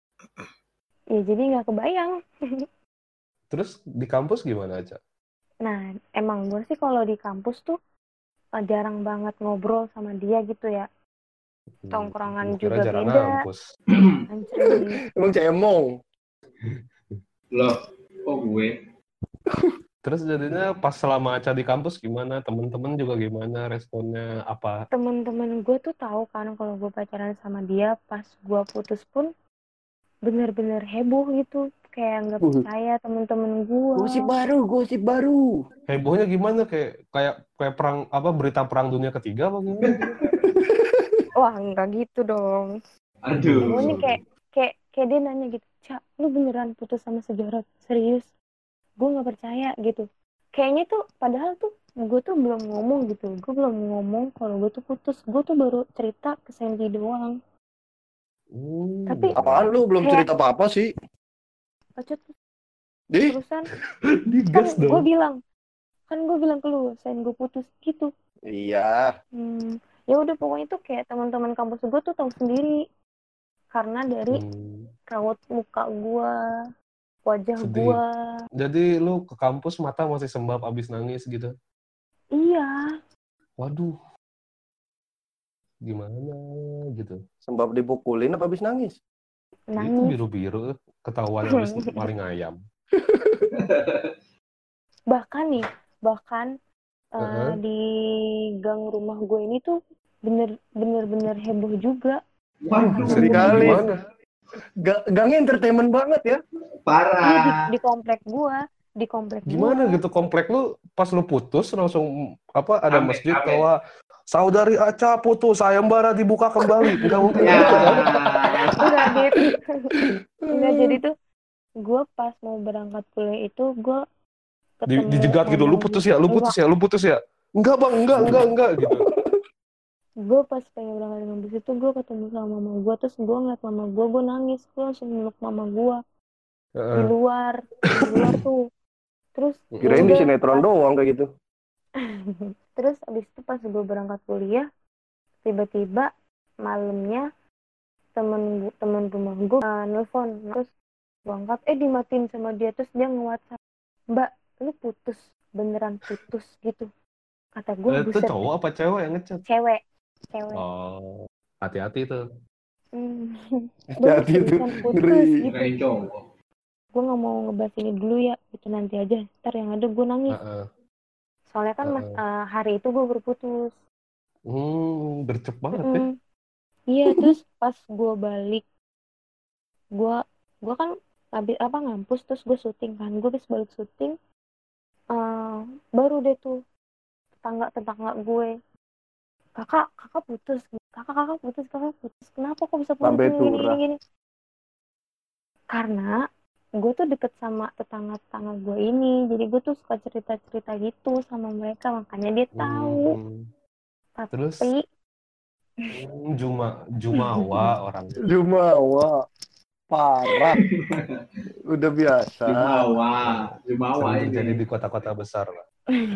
Speaker 4: Ya jadi nggak kebayang.
Speaker 3: Terus di kampus gimana, Aca?
Speaker 4: Nah, emang gue sih kalau di kampus tuh jarang banget ngobrol sama dia gitu ya. Tongkrongan juga
Speaker 3: jarang
Speaker 4: beda.
Speaker 3: ngampus.
Speaker 4: Anjir.
Speaker 1: Emang cemong.
Speaker 2: Loh, kok gue?
Speaker 3: Terus jadinya pas selama Aca di kampus gimana? Temen-temen juga gimana responnya? Apa?
Speaker 4: Temen-temen gue tuh tahu kan kalau gue pacaran sama dia. Pas gue putus pun bener-bener heboh gitu. Kayak nggak percaya temen-temen gue.
Speaker 1: Gosip baru.
Speaker 3: Hebohnya gimana? Kayak perang apa? Berita perang dunia ketiga apa gimana?
Speaker 4: Wah, enggak gitu dong.
Speaker 2: Aduh.
Speaker 4: Hebohnya kayak dia nanya gitu, Cak, lu beneran putus sama Sejorot? Serius? Gue nggak percaya gitu. Kayaknya tuh padahal tuh gue tuh belum ngomong gitu. Gue belum ngomong kalau gue tuh putus. Gue tuh baru cerita ke Sandy doang. Tapi
Speaker 1: apaan lu belum cerita apa-apa sih?
Speaker 4: Pacut
Speaker 1: Di?
Speaker 4: terusan
Speaker 3: Digas
Speaker 4: kan
Speaker 3: dong.
Speaker 4: gue bilang ke lu, Sen gue putus gitu.
Speaker 1: Iya.
Speaker 4: Ya udah pokoknya tuh kayak teman-teman kampus gue tuh tahu sendiri. Karena dari raut muka gue, wajah gue.
Speaker 3: Jadi lu ke kampus mata masih sembab abis nangis gitu?
Speaker 4: Iya.
Speaker 3: Waduh. Gimana gitu?
Speaker 1: Sembab dipukulin apa abis nangis?
Speaker 4: Nangis.
Speaker 3: Itu biru-biru ketahuan abis maling ayam.
Speaker 4: Bahkan di gang rumah gue ini tuh bener-bener heboh juga.
Speaker 2: Waduh,
Speaker 1: sekali. Gangnya entertainment banget ya.
Speaker 2: Parah.
Speaker 4: Di komplek gue.
Speaker 3: Gimana gitu komplek lu pas lu putus langsung apa ada masjid bahwa saudari Aca putus sayembara dibuka kembali. Enggak mungkin gitu kan?
Speaker 4: Enggak gitu. Enggak, jadi tuh gue pas mau berangkat kuliah itu gue ketemu
Speaker 3: dijegat gitu, lu putus ya. Enggak bang, enggak gitu.
Speaker 4: Gue pas pengen berangkat kampus itu gue ketemu sama mama gue, terus gue ngeliat mama gue nangis, gue langsung meluk mama gue di luar tuh. Terus
Speaker 1: kirain di sinetron doang kayak gitu.
Speaker 4: Terus abis itu pas gue berangkat kuliah, tiba-tiba malamnya temen rumah gue nelfon, terus gue angkat, dimatiin sama dia, terus dia nge-WhatsApp, Mbak, lu putus, beneran putus gitu. Kata gue, buset.
Speaker 3: Itu cowok apa cewek yang ngechat?
Speaker 4: Cewek.
Speaker 3: Oh, hati-hati tuh.
Speaker 1: Hati-hati tuh, ngeri.
Speaker 4: Gitu. Gue nggak mau ngebahas ini dulu ya, itu nanti aja. Ntar yang ada gue nangis. Soalnya kan hari itu gue berputus.
Speaker 3: Gercep banget ya.
Speaker 4: Iya, terus pas gue balik, gue kan habis ngampus, terus gue syuting kan. Gue habis balik syuting, baru deh tuh tetangga gue, kakak putus, kakak putus, kenapa kok bisa putus gini. Karena gue tuh deket sama tetangga gue ini, jadi gue tuh suka cerita gitu sama mereka, makanya dia tahu. Tapi
Speaker 3: terus Jumawa orang.
Speaker 1: Jumawa parah. Udah biasa.
Speaker 2: Jumawa ini
Speaker 3: terjadi di kota-kota besar lah.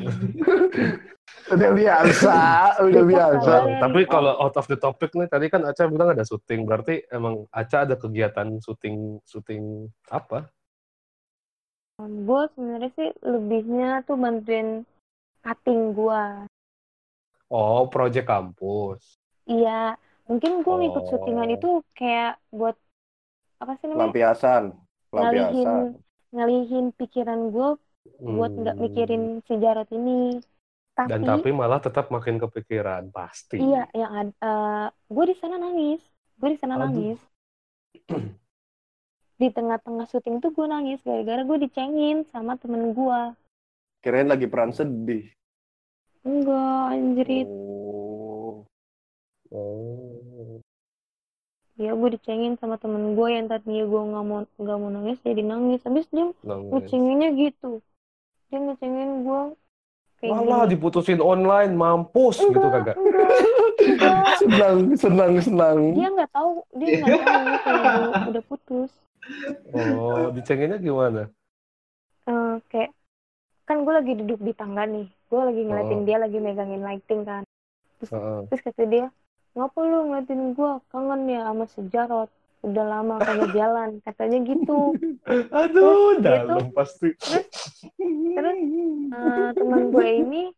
Speaker 1: Udah biasa.
Speaker 3: Tapi kalau out of the topic nih, tadi kan Aca bilang ada syuting, berarti emang Aca ada kegiatan syuting apa?
Speaker 4: Gue sebenarnya sih lebihnya tuh bantuin cutting gue.
Speaker 3: Oh, project kampus.
Speaker 4: Iya, mungkin gue ngikut syutingan itu kayak buat apa sih namanya? Ngalihin pikiran gue buat nggak mikirin si Jarot ini.
Speaker 3: Tapi malah tetap makin kepikiran pasti.
Speaker 4: Iya, yang gue di sana nangis. Di tengah-tengah syuting tuh gue nangis gara-gara gue dicengin sama temen gue.
Speaker 1: Kirain lagi peran sedih.
Speaker 4: Enggak, anjrit. Ya gue dicengin sama temen gue yang tadinya gue nggak mau nangis jadi nangis. Habis dia ngecenginnya gitu. Dia ngecengin gue kayak
Speaker 3: malah
Speaker 4: gini.
Speaker 3: Diputusin online, mampus gitu kagak.
Speaker 1: Senang.
Speaker 4: Dia nggak tahu kalau gue udah putus.
Speaker 3: Oh, dicenginnya gimana?
Speaker 4: Kayak kan gue lagi duduk di tangga nih. Gue lagi ngeliatin dia lagi megangin lighting kan. Terus kata dia, ngapa lu ngeliatin gue? Kangen ya sama si Jarot. Udah lama kagak jalan. Katanya gitu.
Speaker 3: Aduh, dalam pasti.
Speaker 4: Terus teman gue ini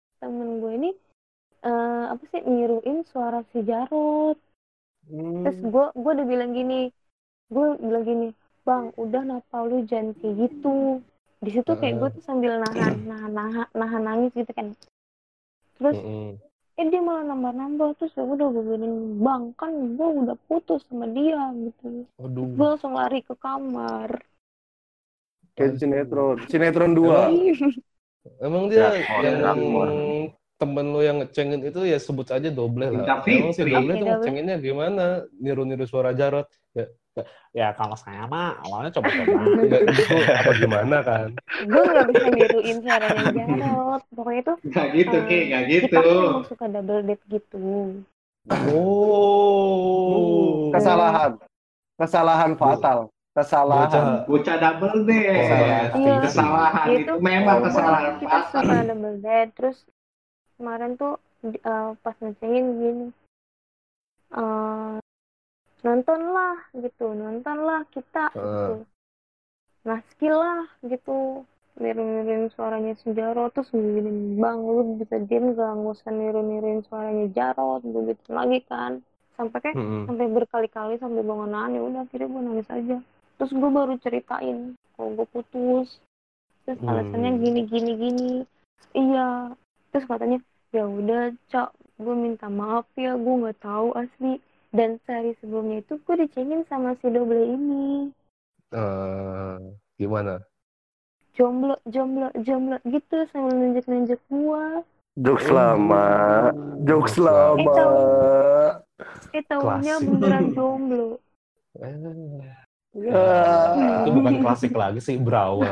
Speaker 4: apa sih niruin suara si Jarot. Terus gue udah bilang gini. Bang, udah napa lu jangan kayak gitu. Di situ kayak gue tuh sambil nahan nangis gitu kan. Terus dia malah nambah terus ya udah gue bilangin, bang kan gue udah putus sama dia gitu. Gue langsung lari ke kamar.
Speaker 1: Kayak sinetron 2.
Speaker 3: Emang dia yang temen lo yang ngecengin itu ya sebut aja Doble lah. Emang si Doble tuh ngecenginnya gimana? Niru suara Jarot. Ya kalau saya mah awalnya coba-coba gitu apa gimana kan.
Speaker 4: Gue nggak bisa niruin suaranya Jarot. Pokoknya tuh
Speaker 2: nggak gitu.
Speaker 4: Kita kan emang suka double date gitu.
Speaker 1: Kesalahan fatal.
Speaker 2: Bocah double date. Kesalahan itu memang kesalahan
Speaker 4: fatal. Kita suka double date. Terus kemarin tuh pas ngecengin gini. Nontonlah kita gitu. Nah skill lah gitu niruin suaranya si Jarot. Terus gini, bang lu bisa diem gak usah niruin suaranya Jarot begitu lagi kan sampai berkali-kali sampai bangunan. Ya udah akhirnya gue nangis aja. Terus gue baru ceritain kalau gue putus. Terus alasannya gini. Iya. Terus katanya ya udah Cak, gue minta maaf ya, gue nggak tahu asli. Dan sehari sebelumnya itu gue dicengin sama si Doble ini.
Speaker 3: Gimana?
Speaker 4: Jomblo gitu sambil nunjuk gue.
Speaker 1: Jokes lama.
Speaker 4: Tahunya beneran jomblo.
Speaker 3: Itu bukan klasik lagi sih, berawal.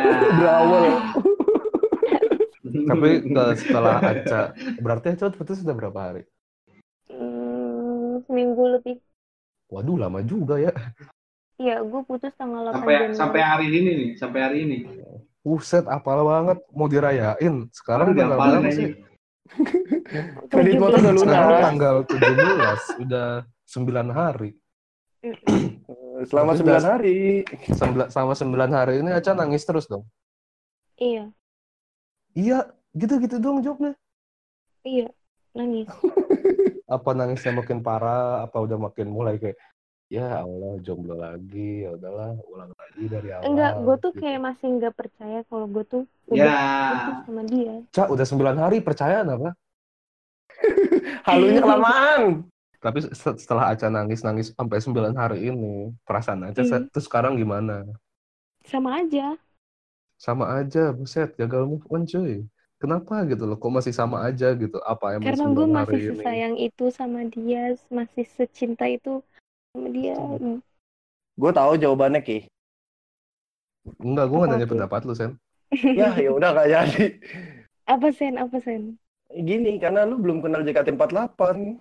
Speaker 3: Tapi setelah Aca, berarti Aca putus sudah berapa hari?
Speaker 4: Seminggu lebih.
Speaker 3: Waduh, lama juga ya.
Speaker 4: Iya, gue putus tanggal 8 Januari.
Speaker 2: Sampai hari ini.
Speaker 3: Buset, apal banget. Mau dirayain. Sekarang tanggal berapa sih?
Speaker 1: Kredit motor udah lunas.
Speaker 3: Sekarang tanggal 17. Udah 9 hari.
Speaker 1: Selama 9 hari.
Speaker 3: Selama 9 hari ini Aca nangis terus dong?
Speaker 4: Iya.
Speaker 3: Iya, gitu-gitu dong jawabnya.
Speaker 4: Iya, nangis.
Speaker 3: Apa nangisnya makin parah? Apa udah makin mulai kayak ya Allah jomblo lagi, ya udahlah ulang lagi dari awal.
Speaker 4: Enggak, gue tuh kayak masih nggak percaya kalau gue tuh udah putus sama dia.
Speaker 3: Cak, udah 9 hari percaya apa?
Speaker 1: Halunya kelamaan.
Speaker 3: Tapi setelah Aca nangis sampai 9 hari ini, perasaan Aca terus sekarang gimana?
Speaker 4: Sama aja,
Speaker 3: buset, gagal move on cuy. Kenapa gitu loh, kok masih sama aja gitu? Apa emang
Speaker 4: karena gue masih sesayang itu sama dia, masih secinta itu sama dia.
Speaker 1: Gue tahu jawabannya, Ki.
Speaker 3: Enggak, gue nggak nanya pendapat lu, Sen.
Speaker 1: Ya udah nggak jadi.
Speaker 4: Apa Sen?
Speaker 1: Gini, karena lu belum kenal JKT48.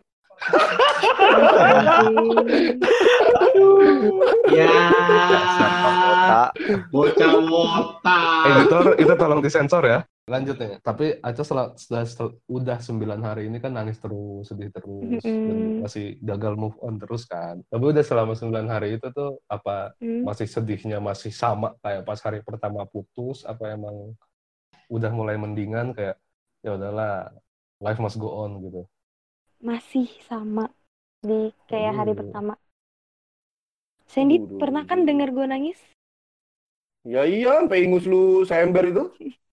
Speaker 2: Ya.
Speaker 5: wota.
Speaker 2: Bocah wota.
Speaker 3: Editor, itu tolong disensor ya. Lanjut ya. Tapi Aca udah 9 hari ini kan nangis terus, sedih terus, dan masih gagal move on terus kan. Tapi udah selama 9 hari itu tuh apa masih sedihnya masih sama kayak pas hari pertama putus, apa emang udah mulai mendingan kayak ya udahlah, life must go on gitu.
Speaker 4: Masih sama di kayak hari pertama. Sandy pernah kan denger gue nangis?
Speaker 1: Ya iya, sampai ingus lu sember itu.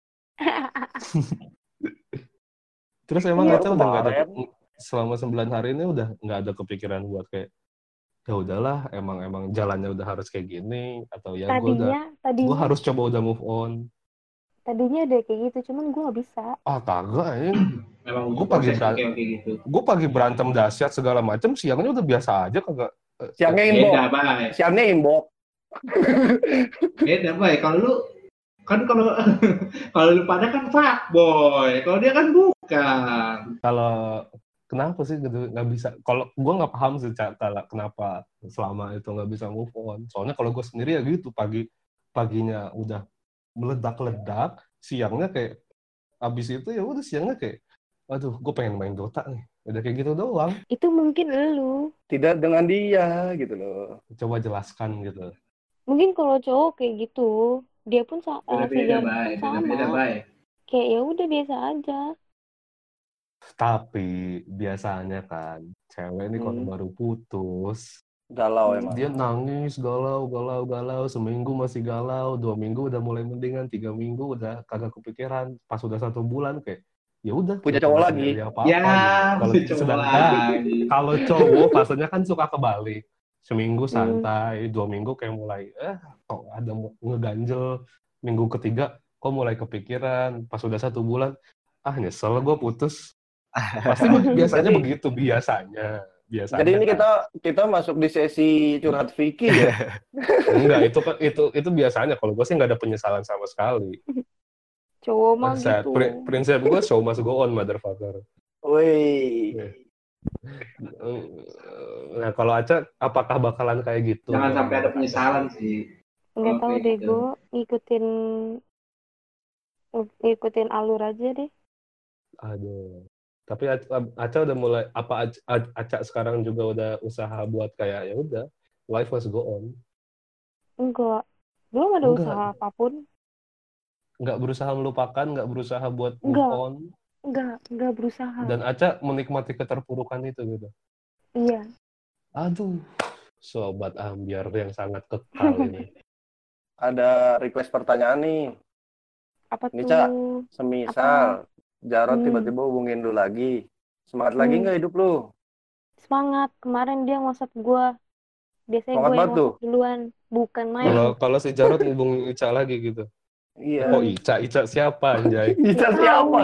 Speaker 3: Terus emang Aca udah nggak ada selama 9 hari ini udah nggak ada kepikiran buat kayak ya udahlah emang jalannya udah harus kayak gini atau ya gue harus coba udah move on.
Speaker 4: Tadinya ada kayak gitu, cuman gue gak bisa.
Speaker 3: Kagak ya.
Speaker 2: Memang
Speaker 3: gue pagi berantem dahsyat segala macam, siangnya udah biasa aja kagak.
Speaker 1: Siangnya inbox. Siangnya inbox.
Speaker 2: Beda, Bay. Kalau lu kan kalau lu pada kan fuckboy, kalau dia kan bukan.
Speaker 3: Kalau kenapa sih gitu nggak bisa? Kalau gue nggak paham sih kenapa selama itu nggak bisa move on. Soalnya kalau gue sendiri ya gitu, paginya udah meledak-ledak, siangnya kayak abis itu ya udah siangnya kayak aduh gue pengen main Dota nih, udah kayak gitu doang.
Speaker 4: Itu mungkin lu
Speaker 1: tidak dengan dia gitu loh.
Speaker 3: Coba jelaskan gitu.
Speaker 4: Mungkin kalau cowok kayak gitu dia pun sama.
Speaker 2: Beda,
Speaker 4: Kayak ya udah biasa aja.
Speaker 3: Tapi biasanya kan cewek ini kalau baru putus
Speaker 1: galau emang.
Speaker 3: Dia nangis, galau, seminggu masih galau, 2 minggu udah mulai mendingan, 3 minggu udah kagak kepikiran, pas udah 1 bulan kayak ya udah
Speaker 1: punya cowok lagi.
Speaker 3: Kalau cowok pastinya kan suka kebalik. Seminggu santai, 2 minggu kayak mulai kok ada ngeganjel, minggu ketiga kok mulai kepikiran, pas udah 1 bulan nyesel gue putus. Pasti biasanya begitu biasanya.
Speaker 1: Jadi ini kita masuk di sesi curhat Vicky ya?
Speaker 3: Enggak, itu biasanya. Kalau gue sih nggak ada penyesalan sama sekali.
Speaker 4: Cowok mah gitu.
Speaker 3: Prinsip gue show must go on, motherfucker.
Speaker 1: Woi.
Speaker 3: Nah, kalau Aca, apakah bakalan kayak gitu?
Speaker 2: Jangan sampai ada penyesalan sih.
Speaker 4: Nggak tahu deh, gue ngikutin alur aja deh.
Speaker 3: Aduh. Tapi Aca udah mulai Aca sekarang juga udah usaha buat kayak ya udah life must go on.
Speaker 4: Enggak. Belum ada usaha apapun.
Speaker 3: Enggak berusaha melupakan, enggak berusaha buat move on.
Speaker 4: Enggak berusaha.
Speaker 3: Dan Aca menikmati keterpurukan itu gitu.
Speaker 4: Iya.
Speaker 3: Aduh. Sobat ambiar yang sangat kekal ini.
Speaker 1: Ada request pertanyaan nih.
Speaker 4: Apa
Speaker 1: ini,
Speaker 4: tuh?
Speaker 1: Ca, semisal Jarod tiba-tiba hubungin lu lagi. Semangat lagi nggak hidup lu?
Speaker 4: Semangat. Kemarin dia WhatsApp gue. Biasanya gue yang WhatsApp duluan. Bukan main.
Speaker 3: Kalau si Jarod hubungin Ica lagi gitu.
Speaker 1: Iya.
Speaker 3: Oh Ica siapa anjay?
Speaker 1: Ica siapa?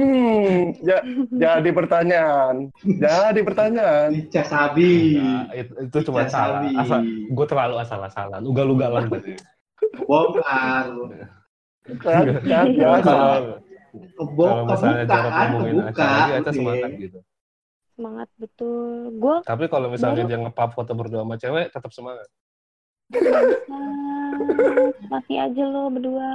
Speaker 1: Jadi pertanyaan.
Speaker 2: Ica Sabi.
Speaker 3: Nah, itu cuma salah. Gue terlalu asal-asalan. Ugal-ugalan tadi.
Speaker 2: Bongkar.
Speaker 3: Kalau misalnya Jarod ngomongin acara lagi, Aca semangat gitu.
Speaker 4: Semangat betul.
Speaker 3: Tapi kalau misalnya dia nge-pub foto berdua sama cewek, tetap semangat.
Speaker 4: Mati aja lo berdua.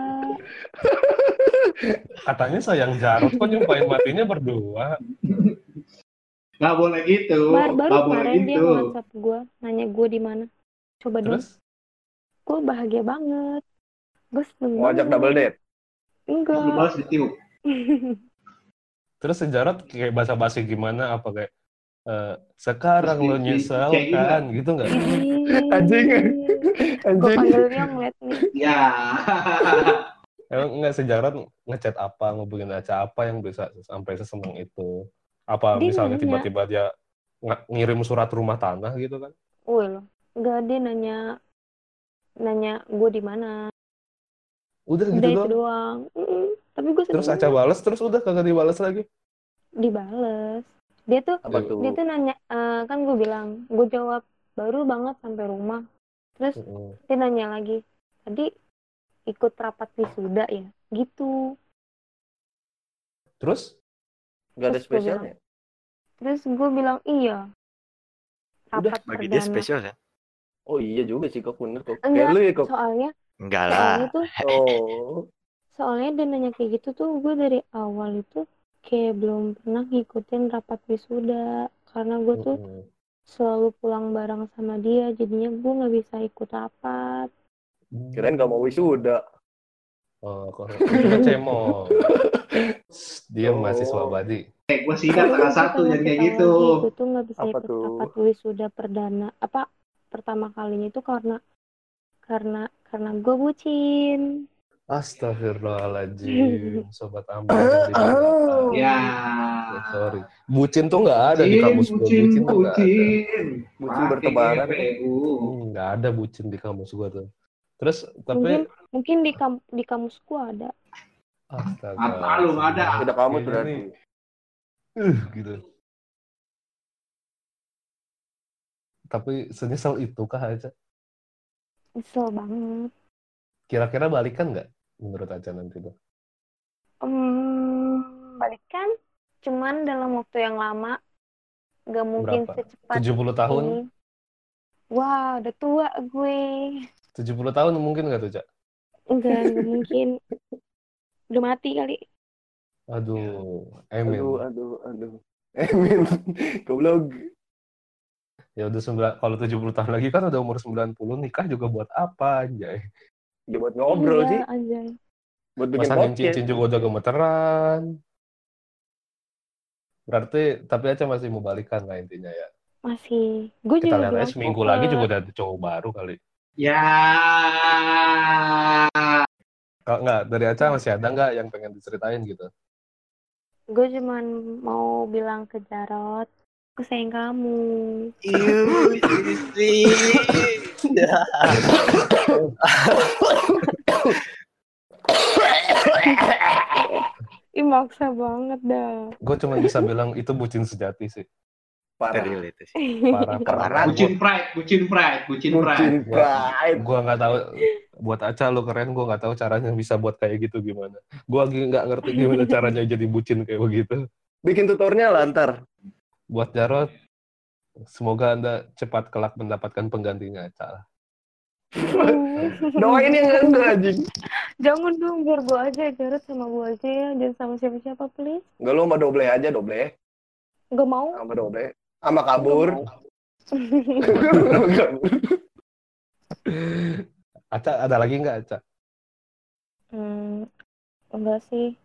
Speaker 3: Katanya sayang Jarod, kok nyumpahin matinya berdua?
Speaker 2: Nggak boleh gitu.
Speaker 4: Baru kemarin dia WhatsApp gue, nanya gue di mana. Coba dong. Gue bahagia banget. Gue seneng banget.
Speaker 1: Ngajak double date?
Speaker 2: Enggak. Lu balas ditiup.
Speaker 3: Terus si Jarod kayak basa-basi gimana? Apa kayak sekarang lo nyesel kan? Gitu nggak?
Speaker 1: Anjing.
Speaker 4: Gue panggilnya ngeliat nih.
Speaker 2: Ya.
Speaker 3: Emang nggak si Jarod ngechat apa, ngubungin Aca apa yang bisa sampai seseneng itu? Apa dia misalnya nanya. Tiba-tiba dia ngirim surat rumah tanah gitu kan?
Speaker 4: Loh, nggak, dia nanya gue di mana.
Speaker 3: Udah gitu
Speaker 4: doang. Tapi gue
Speaker 3: terus Aca balas, terus udah kagak dibalas lagi?
Speaker 4: Dibales. Dia tuh nanya, kan gue bilang, gue jawab baru banget sampai rumah. Terus dia nanya lagi, tadi ikut rapat wisuda ya? Gitu.
Speaker 3: Terus?
Speaker 1: Gak ada spesialnya?
Speaker 4: Terus gue bilang, iya.
Speaker 5: Rapat bagi dia spesial ya?
Speaker 1: Oh iya juga sih kok, bener kok.
Speaker 4: Enggak, soalnya
Speaker 5: Enggak
Speaker 4: Soalnya
Speaker 5: lah.
Speaker 4: tuh, soalnya dia nanya kayak gitu tuh, gue dari awal itu kayak belum pernah ngikutin rapat wisuda. Karena gue tuh selalu pulang bareng sama dia, jadinya gue nggak bisa ikut rapat.
Speaker 1: Kirain gak mau wisuda.
Speaker 3: Oh, itu kan cemong. Dia mahasiswa abadi.
Speaker 2: Gue sidang tanggal 1 jadi kayak gitu.
Speaker 4: Gue tuh nggak bisa ikut rapat wisuda perdana. Pertama kalinya itu karena gue bucin.
Speaker 3: Astagfirullahaladzim, sobat Amber.
Speaker 2: Ya.
Speaker 3: Sorry. Bucin tuh nggak ada di kamus gue. Bucin
Speaker 1: bertebaran.
Speaker 3: Nggak ada bucin di kamus gue tuh. Terus tapi
Speaker 4: mungkin di kamus gue ada.
Speaker 2: Astaga. Lu ada.
Speaker 1: Tidak kamus berarti.
Speaker 3: Gitu. Tapi senyesal itu kah aja?
Speaker 4: Nyesel banget.
Speaker 3: Kira-kira balikan nggak menurut Aca nanti tuh?
Speaker 4: Balikan, cuman dalam waktu yang lama. Gak mungkin
Speaker 3: berapa?
Speaker 4: Secepat
Speaker 3: 70 tahun?
Speaker 4: Ini. Wah, udah tua gue.
Speaker 3: 70 tahun mungkin nggak tuh, Cak?
Speaker 4: Enggak mungkin. Udah mati kali.
Speaker 3: Aduh, Emin.
Speaker 1: Aduh. Emin, goblok.
Speaker 3: Ya udah kalau 70 tahun lagi kan udah umur 90, nikah juga buat apa, anjay?
Speaker 1: Ya buat ngobrol sih.
Speaker 4: Anjay.
Speaker 1: Buat bikin
Speaker 3: masa
Speaker 1: podcast.
Speaker 3: cincin juga udah gemeteran. Berarti, tapi Aca masih mau balikan lah intinya ya?
Speaker 4: Masih. Gue
Speaker 3: kita
Speaker 4: juga
Speaker 3: lihat aja seminggu lagi juga udah ada cowok baru kali.
Speaker 2: Ya.
Speaker 3: Kalau nggak, dari Aca masih ada nggak yang pengen diceritain gitu?
Speaker 4: Gue cuman mau bilang ke Jarot, aku sayang kamu. Ih, maksa banget dah.
Speaker 3: Gue cuma bisa bilang itu bucin sejati sih.
Speaker 1: Parah.
Speaker 3: Parah.
Speaker 2: Bucin pride.
Speaker 3: Gue nggak tahu. Buat Aca lo keren, gue nggak tahu caranya bisa buat kayak gitu gimana. Gue lagi nggak ngerti gimana caranya jadi bucin kayak begitu.
Speaker 1: Bikin tutorial lah ntar.
Speaker 3: Buat Jarot, semoga Anda cepat kelak mendapatkan penggantinya Aca.
Speaker 1: Doain yang enggak anjing.
Speaker 4: Jangan dong, biar gue aja, Jarot sama gue aja ya, jangan sama siapa-siapa please.
Speaker 1: Enggak, lo sama Doble aja, Doble.
Speaker 4: Enggak mau.
Speaker 1: Sama Doble. Sama kabur.
Speaker 3: Aca, ada lagi nggak Aca?
Speaker 4: Enggak sih.